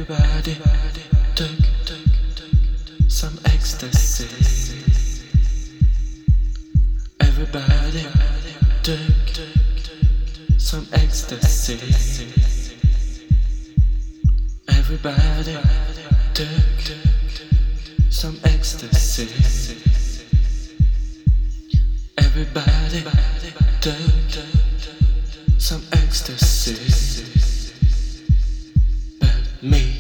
Everybody took some ecstasy. Everybody took some ecstasy. Everybody took some ecstasy. Everybody took some ecstasy. But me.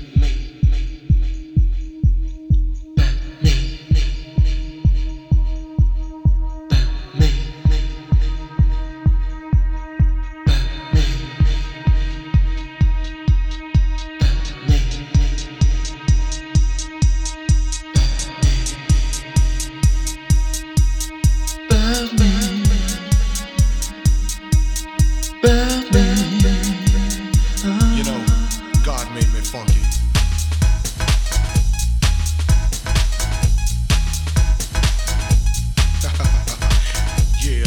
You know, God made me funky. Yeah.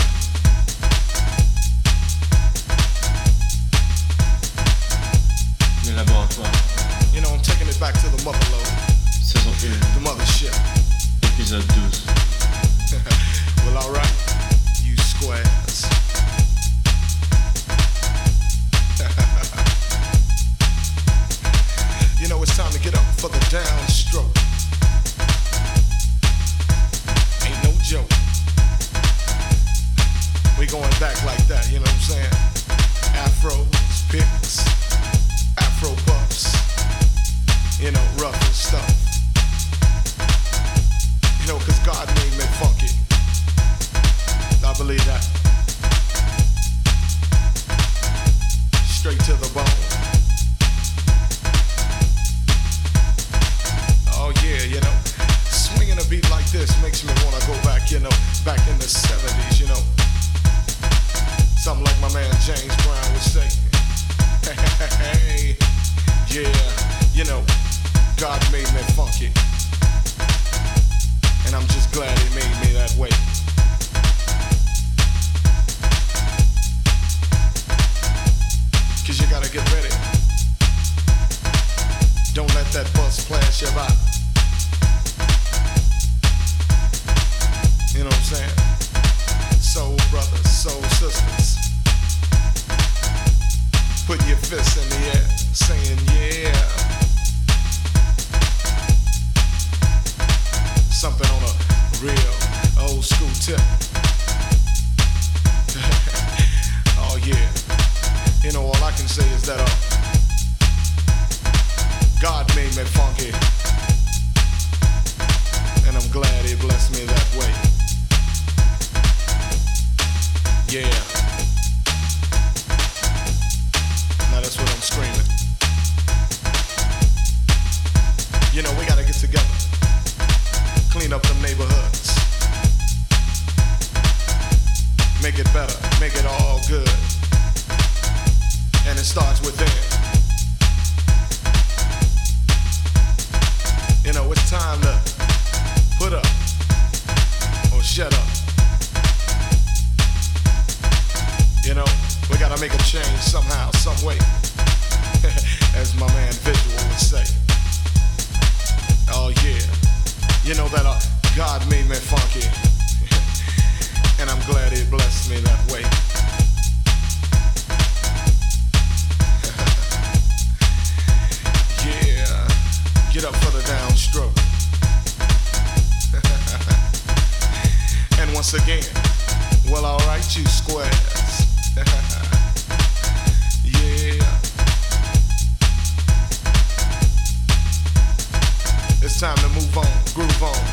Le laboratoire. You know, I'm taking it back to the mother lode. Saison 1. The mothership. Épisode 12. Well, alright. You squares. You know, it's time to get up for the downstroke. Ain't no joke. We going back like that, you know what I'm saying? Afros, picks, afro puffs, you know, rough and stuff. You know, cause God made me funky. I believe that. Straight to the bone. Oh yeah, you know, swinging a beat like this makes me wanna go back, you know, back in the 70s, you know. Something like my man James Brown would say. Hey, yeah, you know, God made me funky. And I'm just glad he made me that way. Cause you gotta get ready. Don't let that bus flash you by. You know what I'm saying? Soul brothers, soul sisters. Put your fists in the air, saying yeah. Something on a real old school tip. Oh yeah. You know, all I can say is that God made me funky. And I'm glad he blessed me that way. Yeah. Now that's what I'm screaming. You know, we gotta get together. Clean up them neighborhoods. Make it better, make it all good. And it starts within. You know, it's time to put up or shut up. You know, we gotta make a change somehow, some way. As my man Visual would say. Oh yeah. You know that God made me funky. And I'm glad he blessed me that way. Yeah. Get up for the downstroke. And once again, well, alright, you squares. Yeah. It's time to move on, groove on.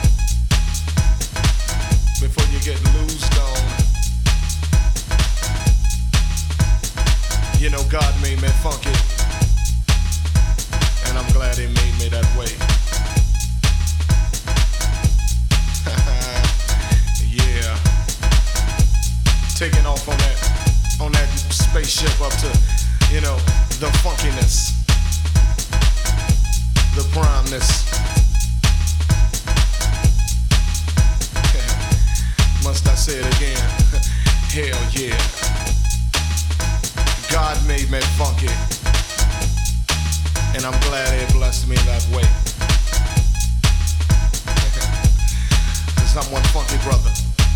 Before you get loosed on. You know, God made me funky. And I'm glad he made me that way. Yeah. Taking off on that spaceship up to, you know, the funkiness, the primeness. Must I say it again? Hell yeah. God made me funky. And I'm glad he blessed me that way. Cause I'm one funky brother.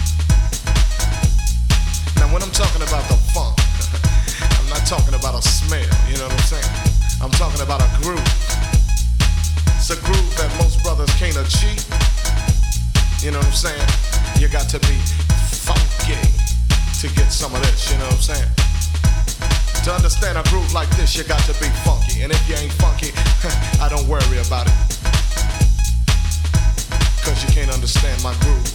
Now when I'm talking about the funk, I'm not talking about a smell, you know what I'm saying? I'm talking about a groove. It's a groove that most brothers can't achieve. You know what I'm saying? You got to be funky to get some of this, you know what I'm saying? To understand a groove like this, you got to be funky. And if you ain't funky, I don't worry about it. Cause you can't understand my groove.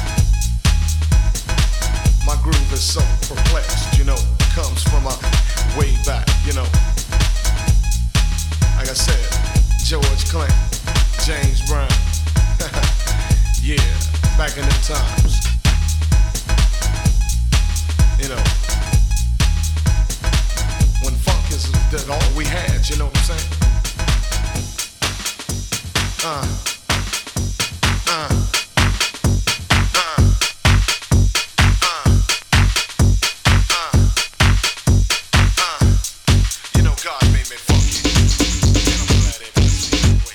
My groove is so perplexed, you know, comes from a way back, you know. Like I said, George Clinton, James Brown. Yeah, back in them times. You know, when funk is all we had, you know what I'm saying? You know, God made me funky, and I'm glad it blessed me that way.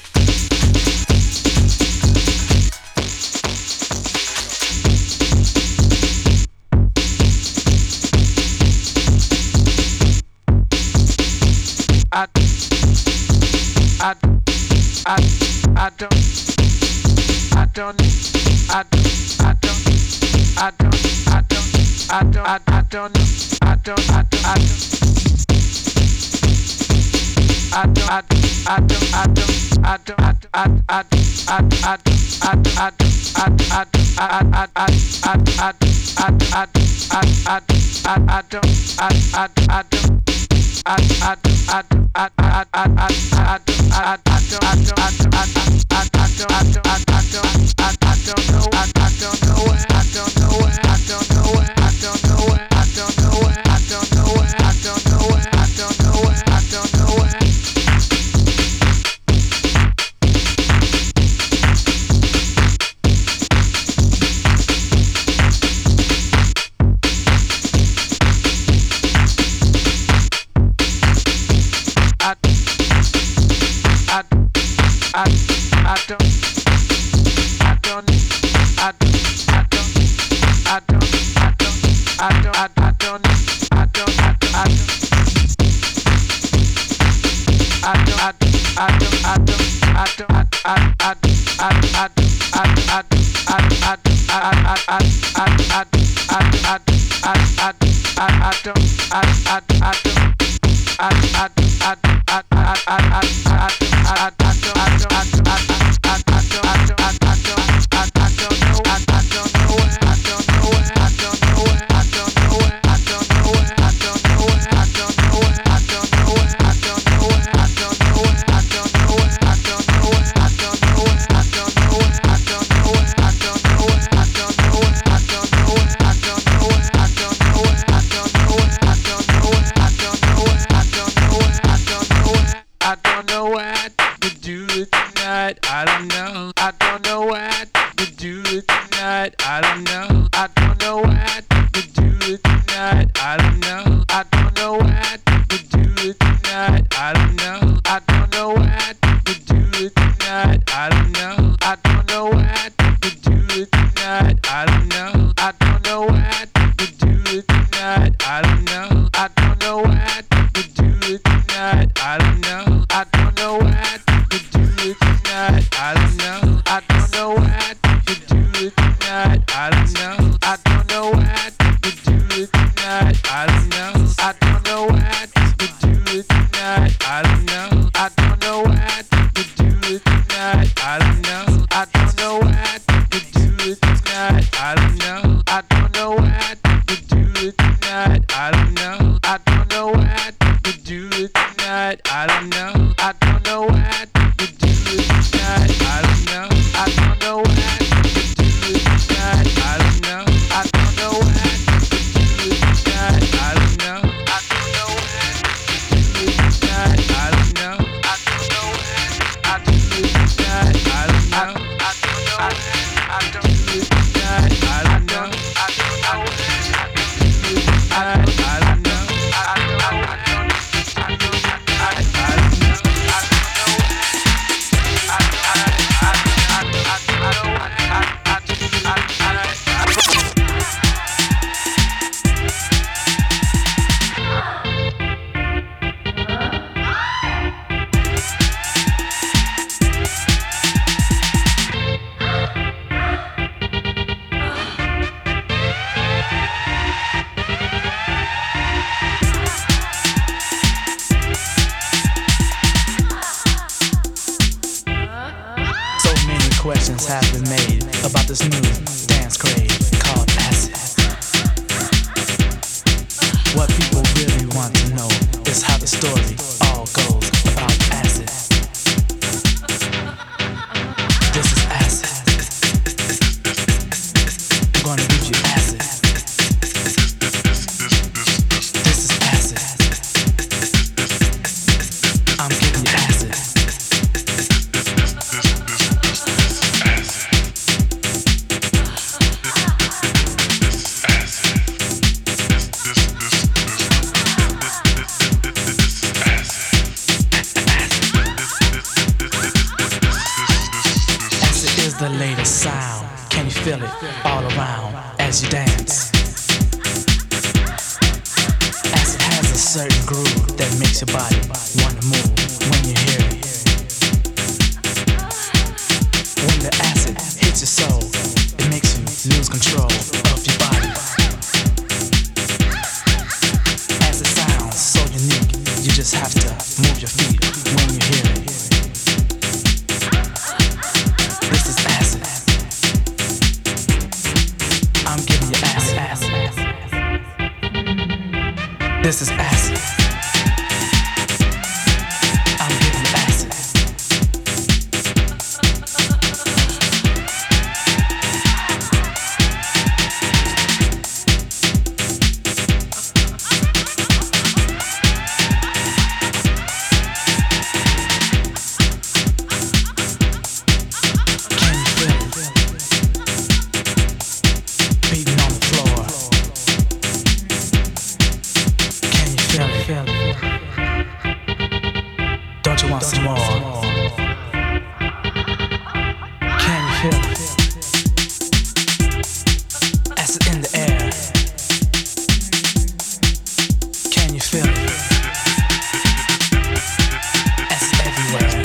I don't know. questions have been made about this new dance craze called acid. What people really want to know is how the story all goes about acid. This is acid. I'm gonna give you acid. This is acid. I'm giving you acid. The latest sound, can you feel it all around as you dance? Acid has a certain groove that makes your body want to move when you hear it. When the acid hits your soul, it makes you lose control of your body. Acid sounds so unique, you just have to move your feet when you hear it. This is acid. I'm giving you acid. Can you feel it? Beating on the floor. Feel it. Don't you want some more? Can you feel it? Acid in the air. Can you feel it? Acid everywhere.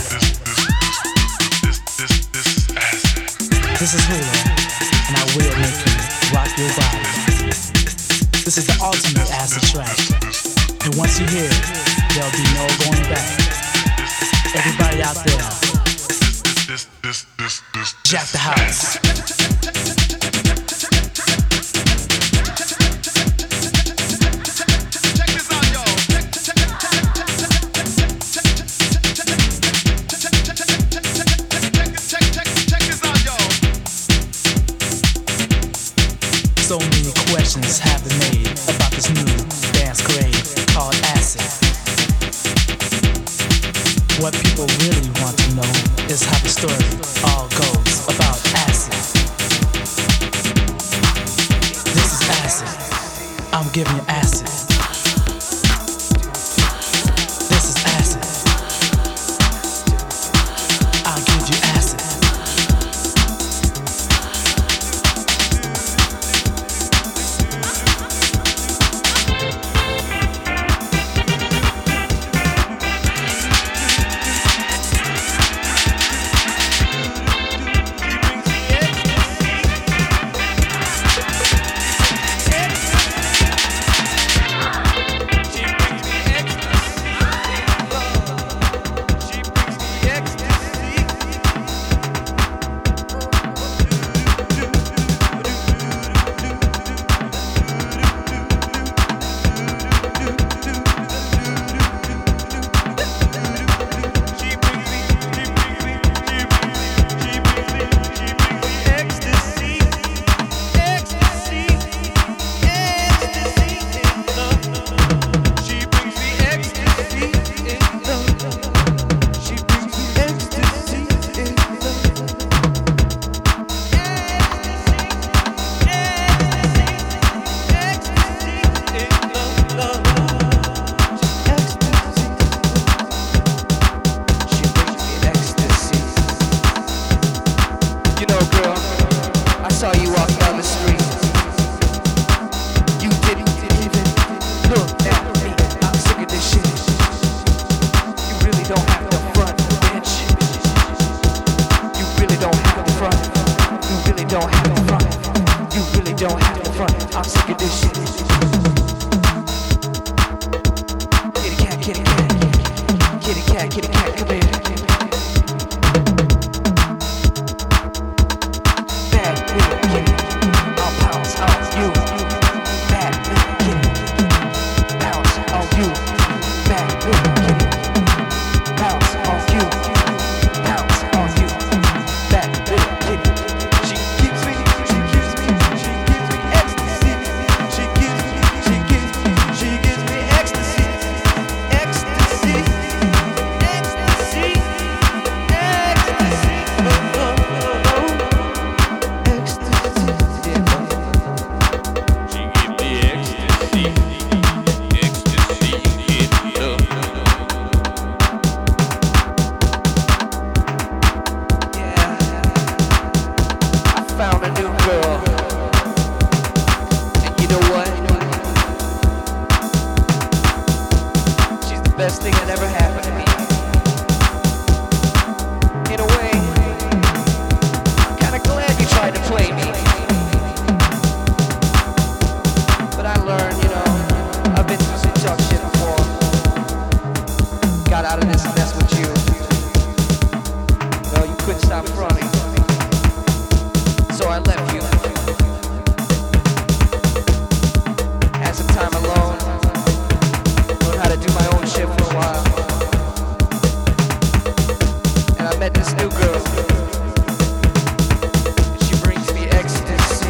This is Hula, and I will make you rock your body. This is the ultimate acid track. And once you hear it, there'll be no going back. Everybody out there, jack the house. So many questions have been made about this new dance craze called acid. What people really want to know is how the story all goes about acid. This is acid. I'm giving you acid. This is acid. I'll give you acid. Kitty cat, come here. couldn't stop running. So I left you. Had some time alone. Learned how to do my own shit for a while. And I met this new girl. And she brings me ecstasy.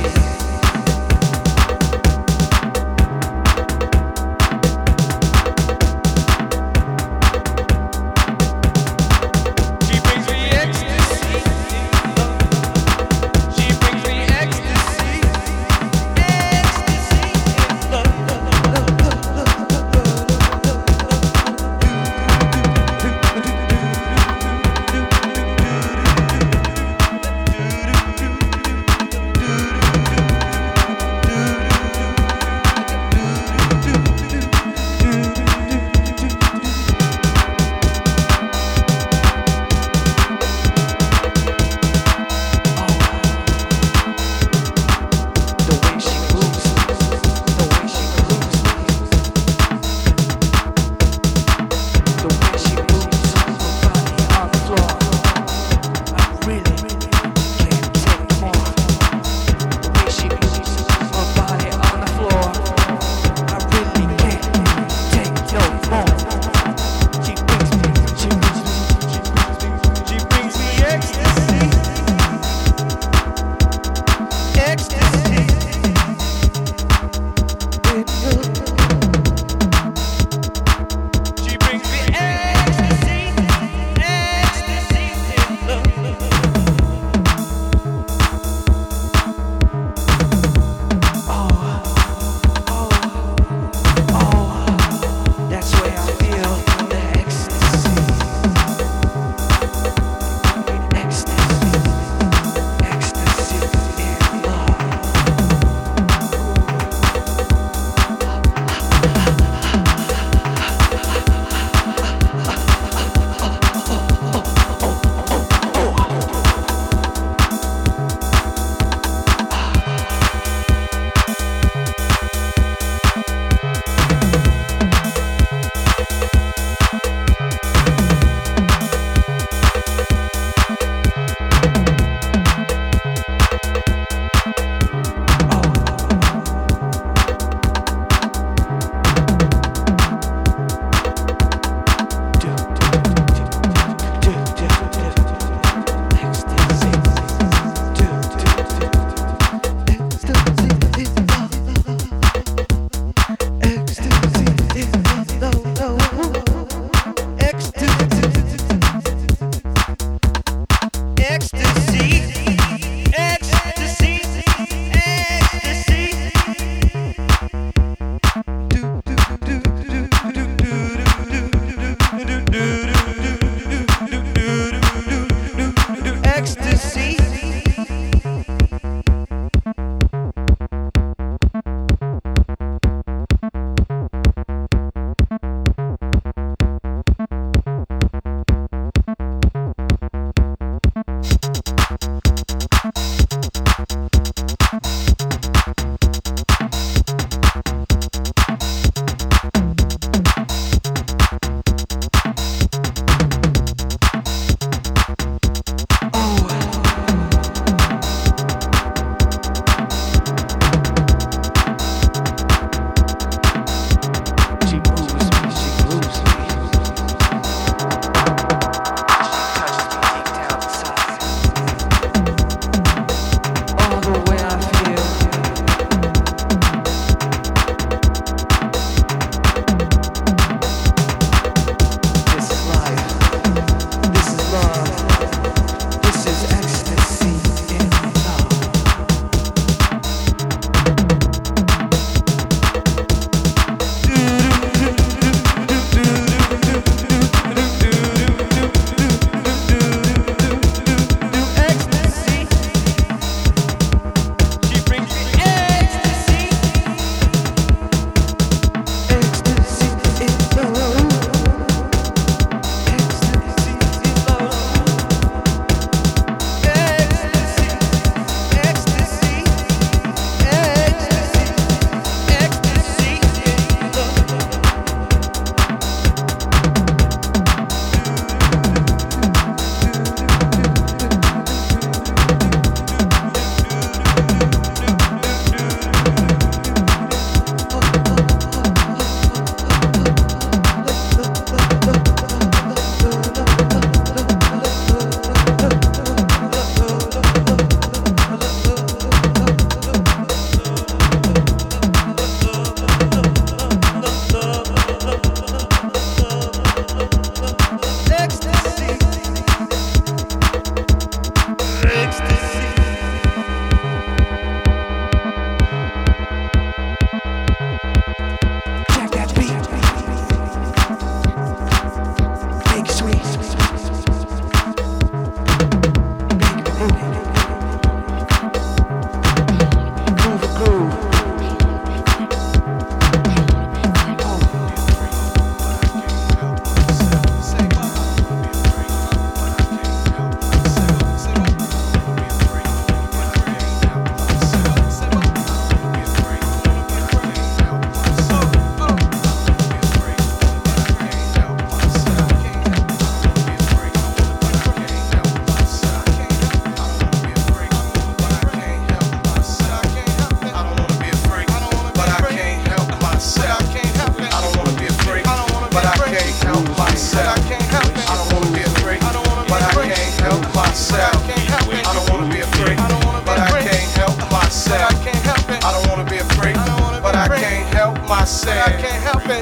myself. I can't help it.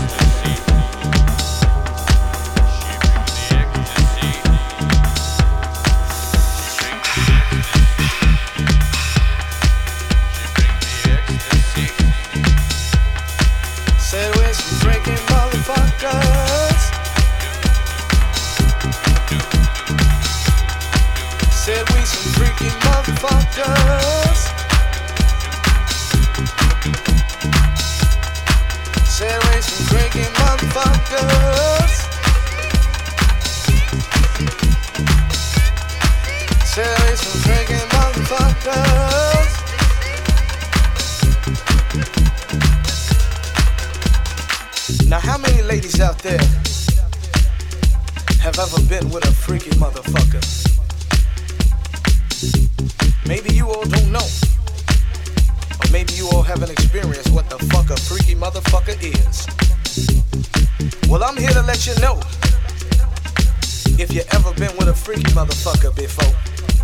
Said we're some freaking motherfuckers. Said we some freaking motherfuckers. Said we some freaking motherfuckers. Said we some freaking motherfuckers. Now how many ladies out there have ever been with a freaky motherfucker? Maybe you all don't know. Or maybe you all haven't experienced what the fuck a freaky motherfucker is. Well, I'm here to let you know. If you ever been with a freaky motherfucker before.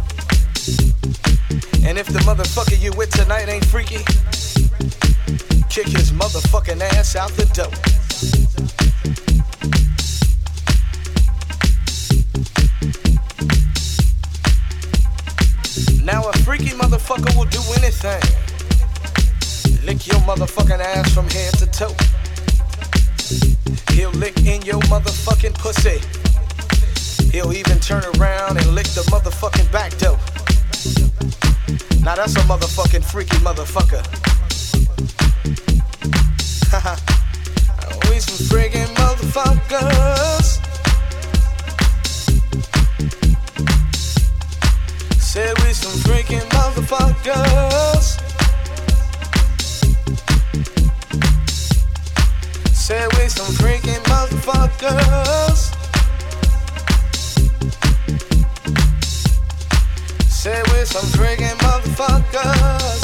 And if the motherfucker you with tonight ain't freaky, kick his motherfucking ass out the door. Now a freaky motherfucker will do anything. Lick your motherfucking ass from head to toe. He'll lick in your motherfucking pussy. He'll even turn around and lick the motherfucking back door. Now that's a motherfucking freaky motherfucker. Haha. We some freaking motherfuckers. Said we some freaking motherfuckers. Said we some freaking motherfuckers. Said we some freaking motherfuckers.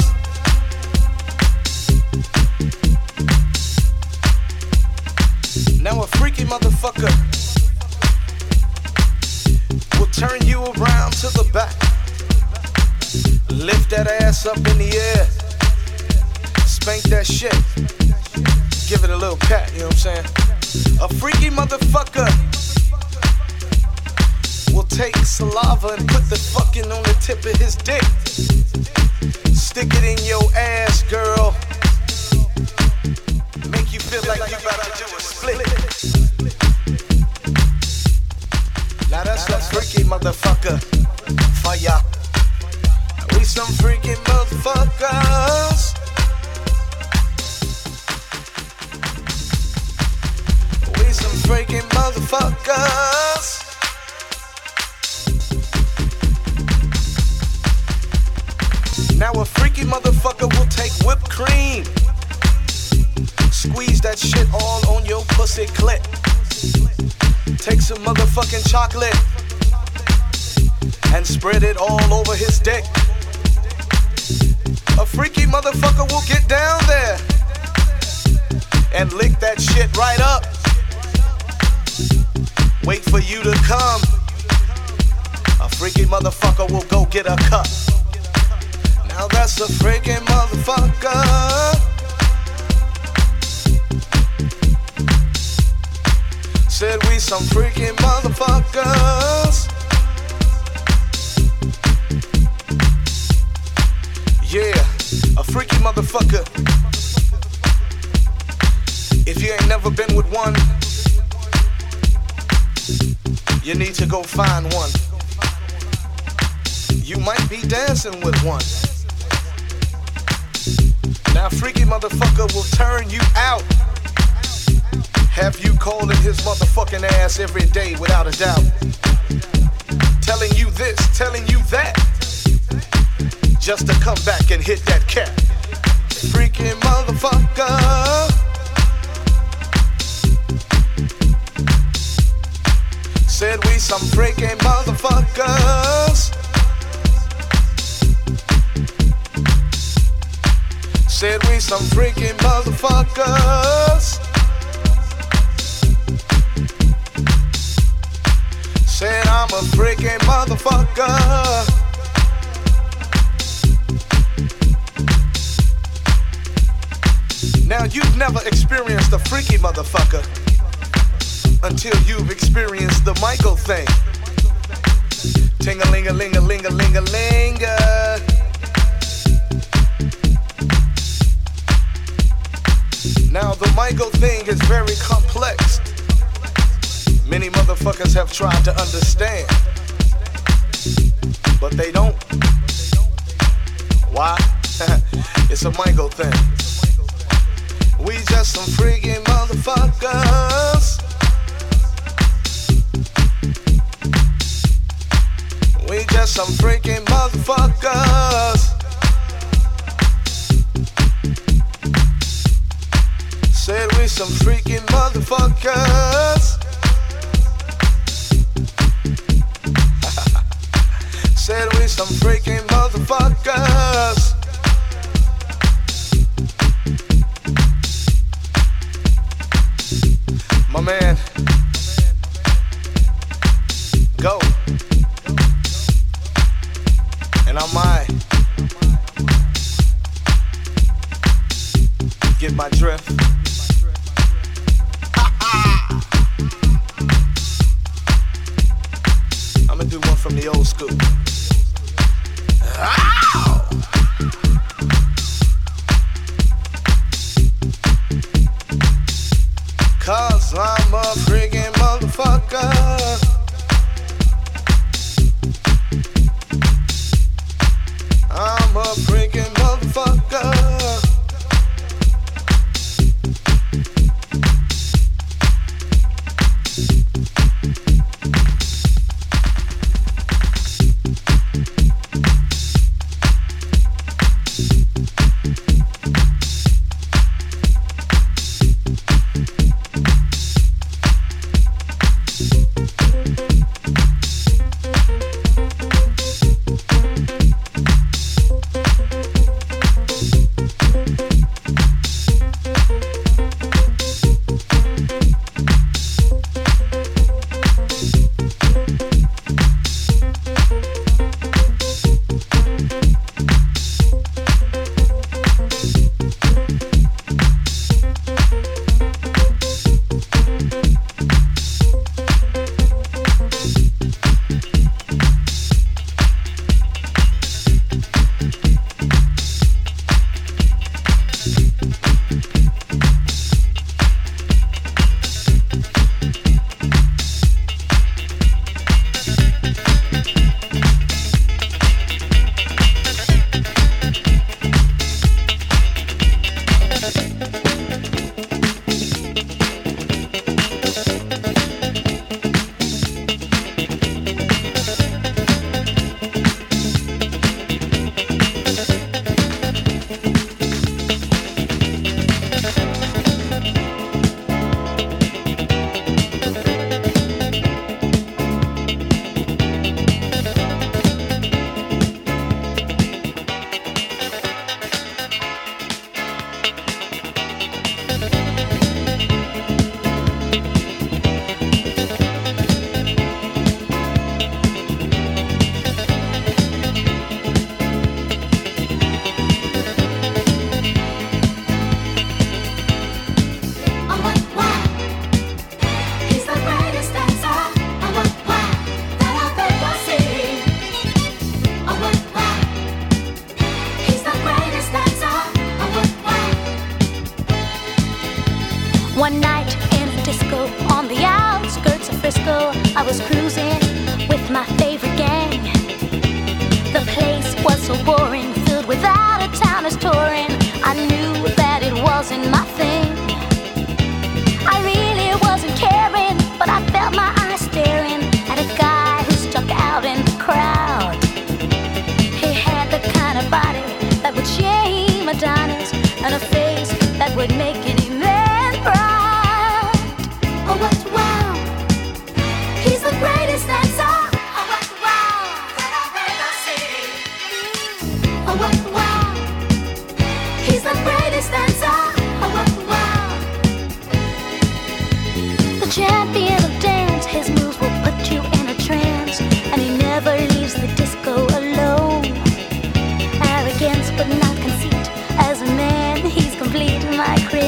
Now a freaky motherfucker will turn you around to the back. Lift that ass up in the air. Spank that shit. Give it a little pat, you know what I'm saying? A freaky motherfucker will take saliva and put the fucking on the tip of his dick. Stick it in your ass, girl. Make you feel like you about to do a split. Now that's a freaky motherfucker for ya. We some freaking motherfuckers. We some freaking motherfuckers. Now a freaky motherfucker will take whipped cream. Squeeze that shit all on your pussy clit. Take some motherfucking chocolate and spread it all over his dick. A freaky motherfucker will get down there and lick that shit right up. Wait for you to come. A freaky motherfucker will go get a cup. Now that's a freaking motherfucker. Said we some freaking motherfuckers. Yeah, a freaky motherfucker. If you ain't never been with one, you need to go find one. You might be dancing with one. Now a freaky motherfucker will turn you out. Have you calling his motherfucking ass every day without a doubt. Telling you this, telling you that. Just to come back and hit that cat. Freaking motherfucker. Said we some freaking motherfuckers. Said we some freaking motherfuckers. Said I'm a freaking motherfucker. Now you've never experienced a freaky motherfucker until you've experienced the Michael thing. Ting-a-ling-a-ling-a-ling-a-ling-a-ling-a. Now the Michael thing is very complex. Many motherfuckers have tried to understand, but they don't. Why? It's a Michael thing. We just some freaky motherfuckers. We just some freaky motherfuckers. Said we some freaky motherfuckers. Said we some freaky motherfuckers. My man, go. And I might get my drift. I'ma do one from the old school. Ow! Cause I'm a freaking motherfucker. I'm a freaking motherfucker. One night in a disco on the outskirts of Frisco, I was cruising with my favorite gang. The place was so boring, filled with out-of-towners touring. I knew that it wasn't my thing. I really wasn't caring, but I felt my eyes staring at a guy who stuck out in the crowd. He had the kind of body that would shame Adonis, and a face that would make any man proud. Oh, what wow! He's the greatest dancer. Oh, what wow! That I've ever seen. Oh, what wow! He's the greatest dancer. Oh, what wow! The champion of dance, his moves will put you in a trance, and he never leaves the disco alone. Arrogance but not conceit, as a man he's complete, my creator.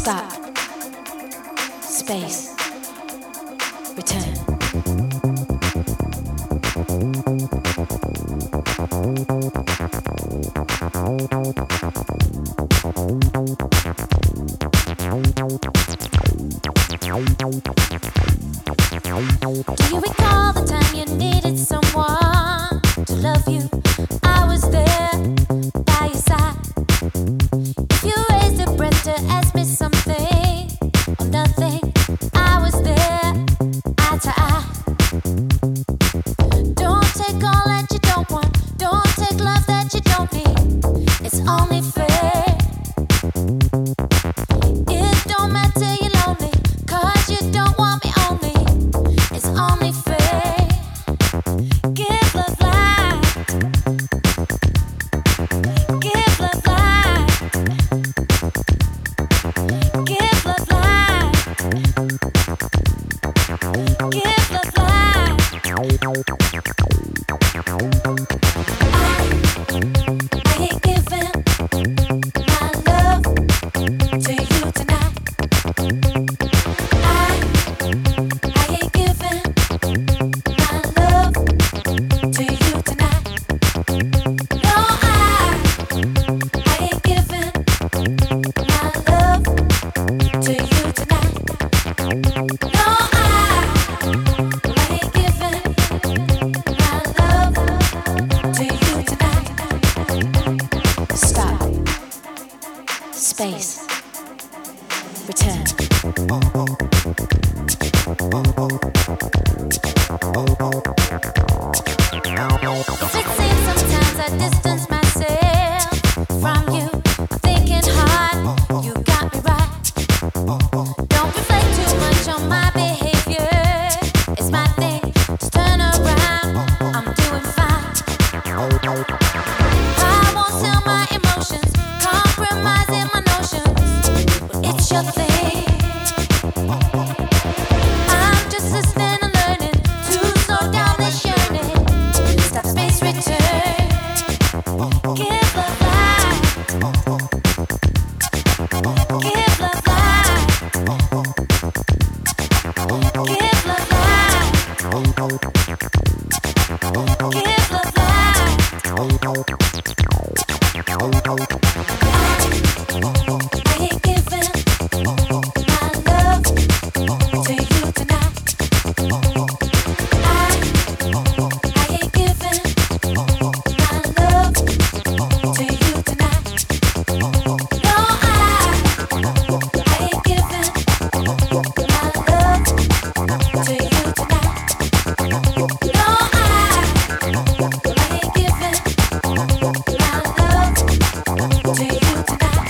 Stop. Space. Return. Do you recall the time you needed someone to love you? I was there by your side. If you raised a breath to ask me something or nothing, I was there eye to eye. Don't take all that you don't want. Don't take love that you don't need. It's only fair. It don't matter you're lonely, 'cause you don't want me only. It's only fair. Give love life. Give love life. Give love life. Give love life. I ain't giving my love to you tonight. I ain't giving my love to you tonight. No, I ain't giving my love to you tonight. No, I ain't giving my love to you tonight. Stop. Space. Return. If it seems sometimes I distance myself from you, I'm thinking hard, you got me right. Don't reflect too much on my behavior, it's my thing, just turn around, I'm doing fine. I won't sell my emotions, compromising my notions, it's your thing. I'm just listening and learning to slow down this yearning. Stop, space, return. Give love life. Give love life. Give love life. Give love life. I ain't giving my love to you tonight. I ain't giving my love to you tonight. No, I ain't giving my love to you tonight. No, I ain't giving my love to you tonight.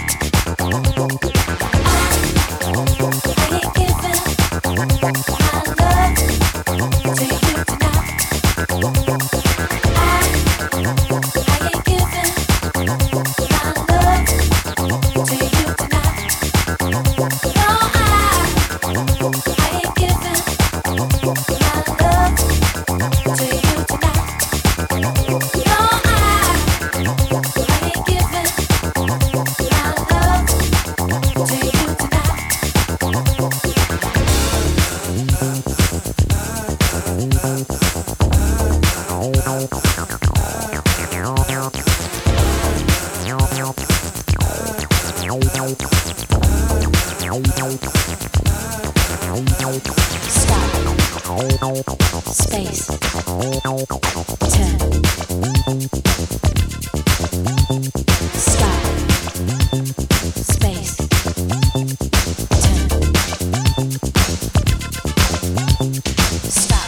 Space. Turn. Stop. Space. Turn. Stop.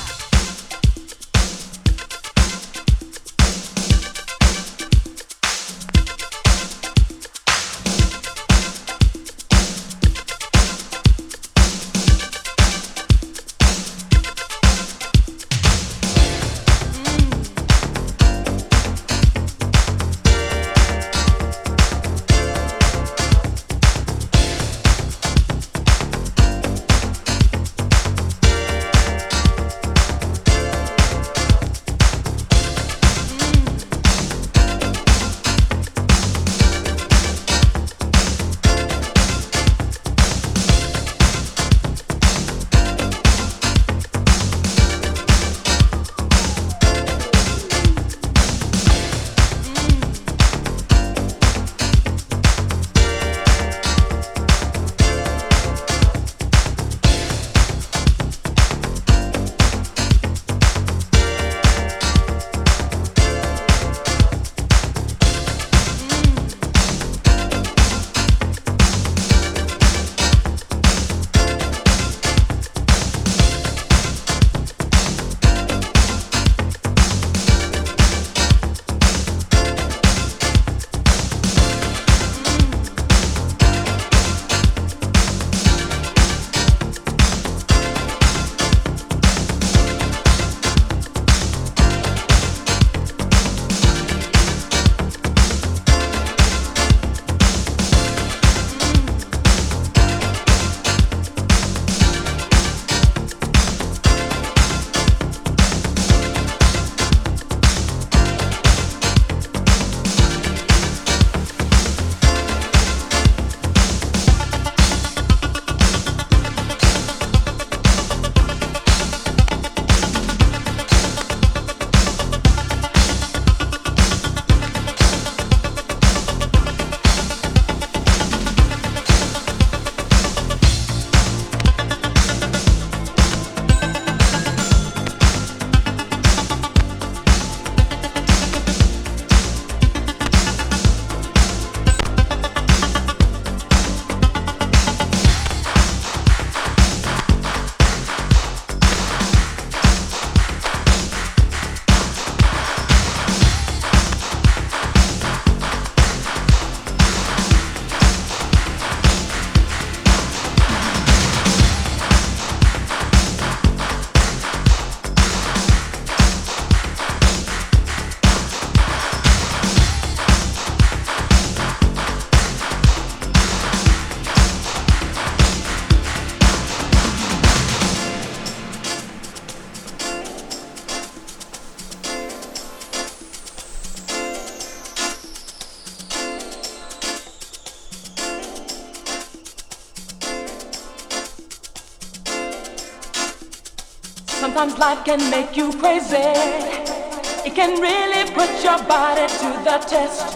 Sometimes life can make you crazy. It can really put your body to the test.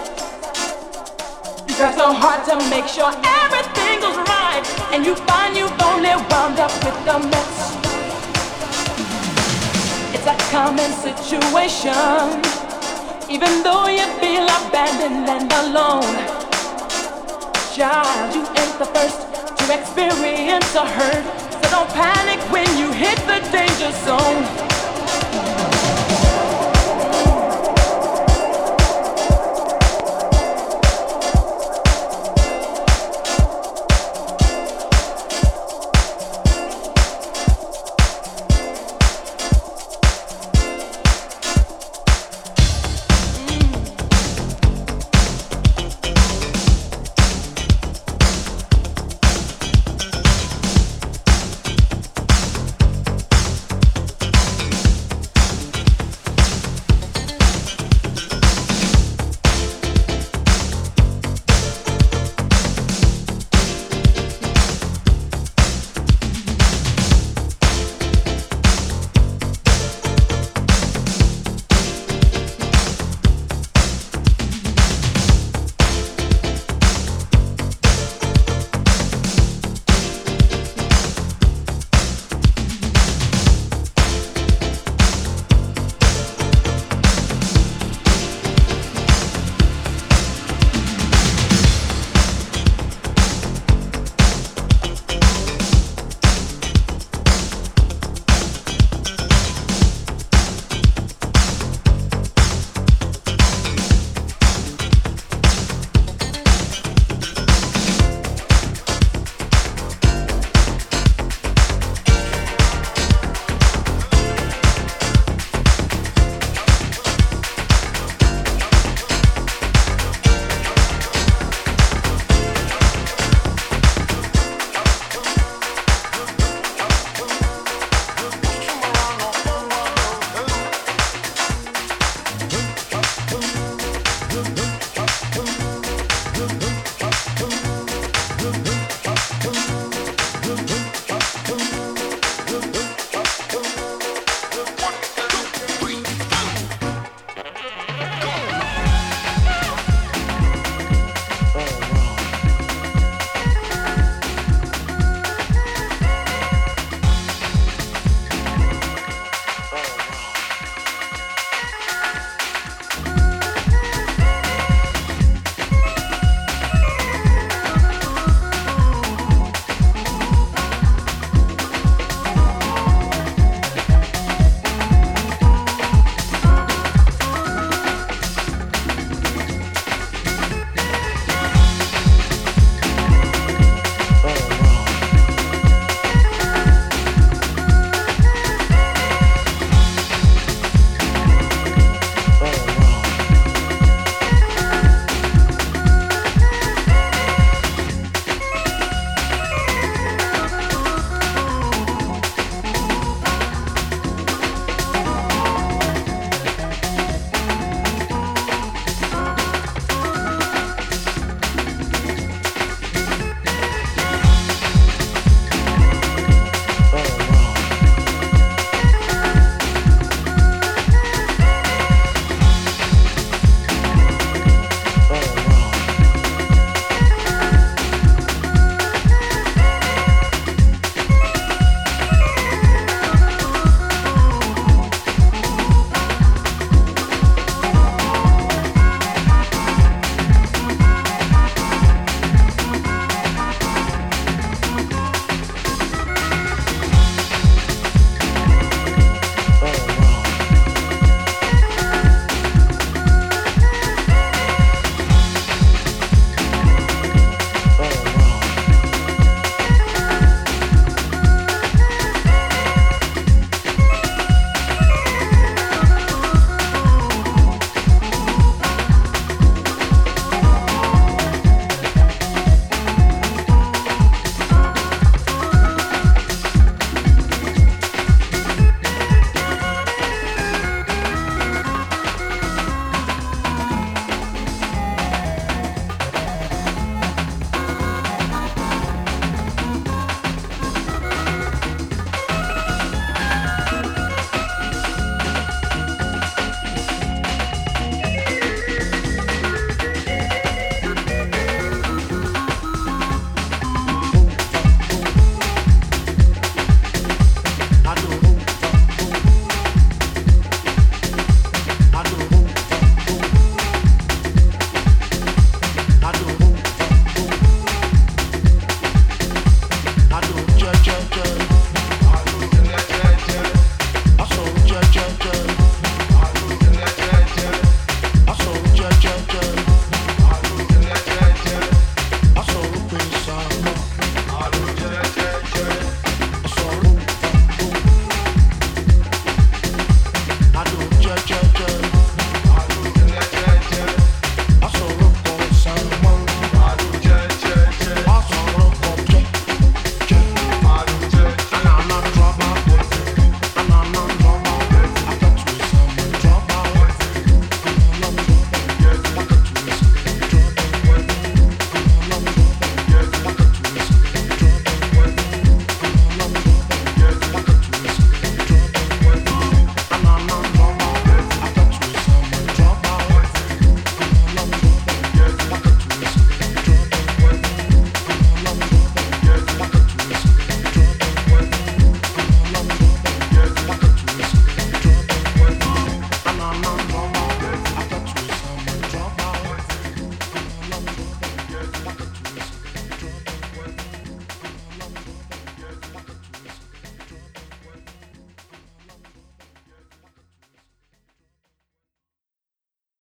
You try so hard to make sure everything goes right, and you find you've only wound up with a mess. It's a common situation, even though you feel abandoned and alone. Child, you ain't the first to experience a hurt, so don't panic when you hit the danger zone.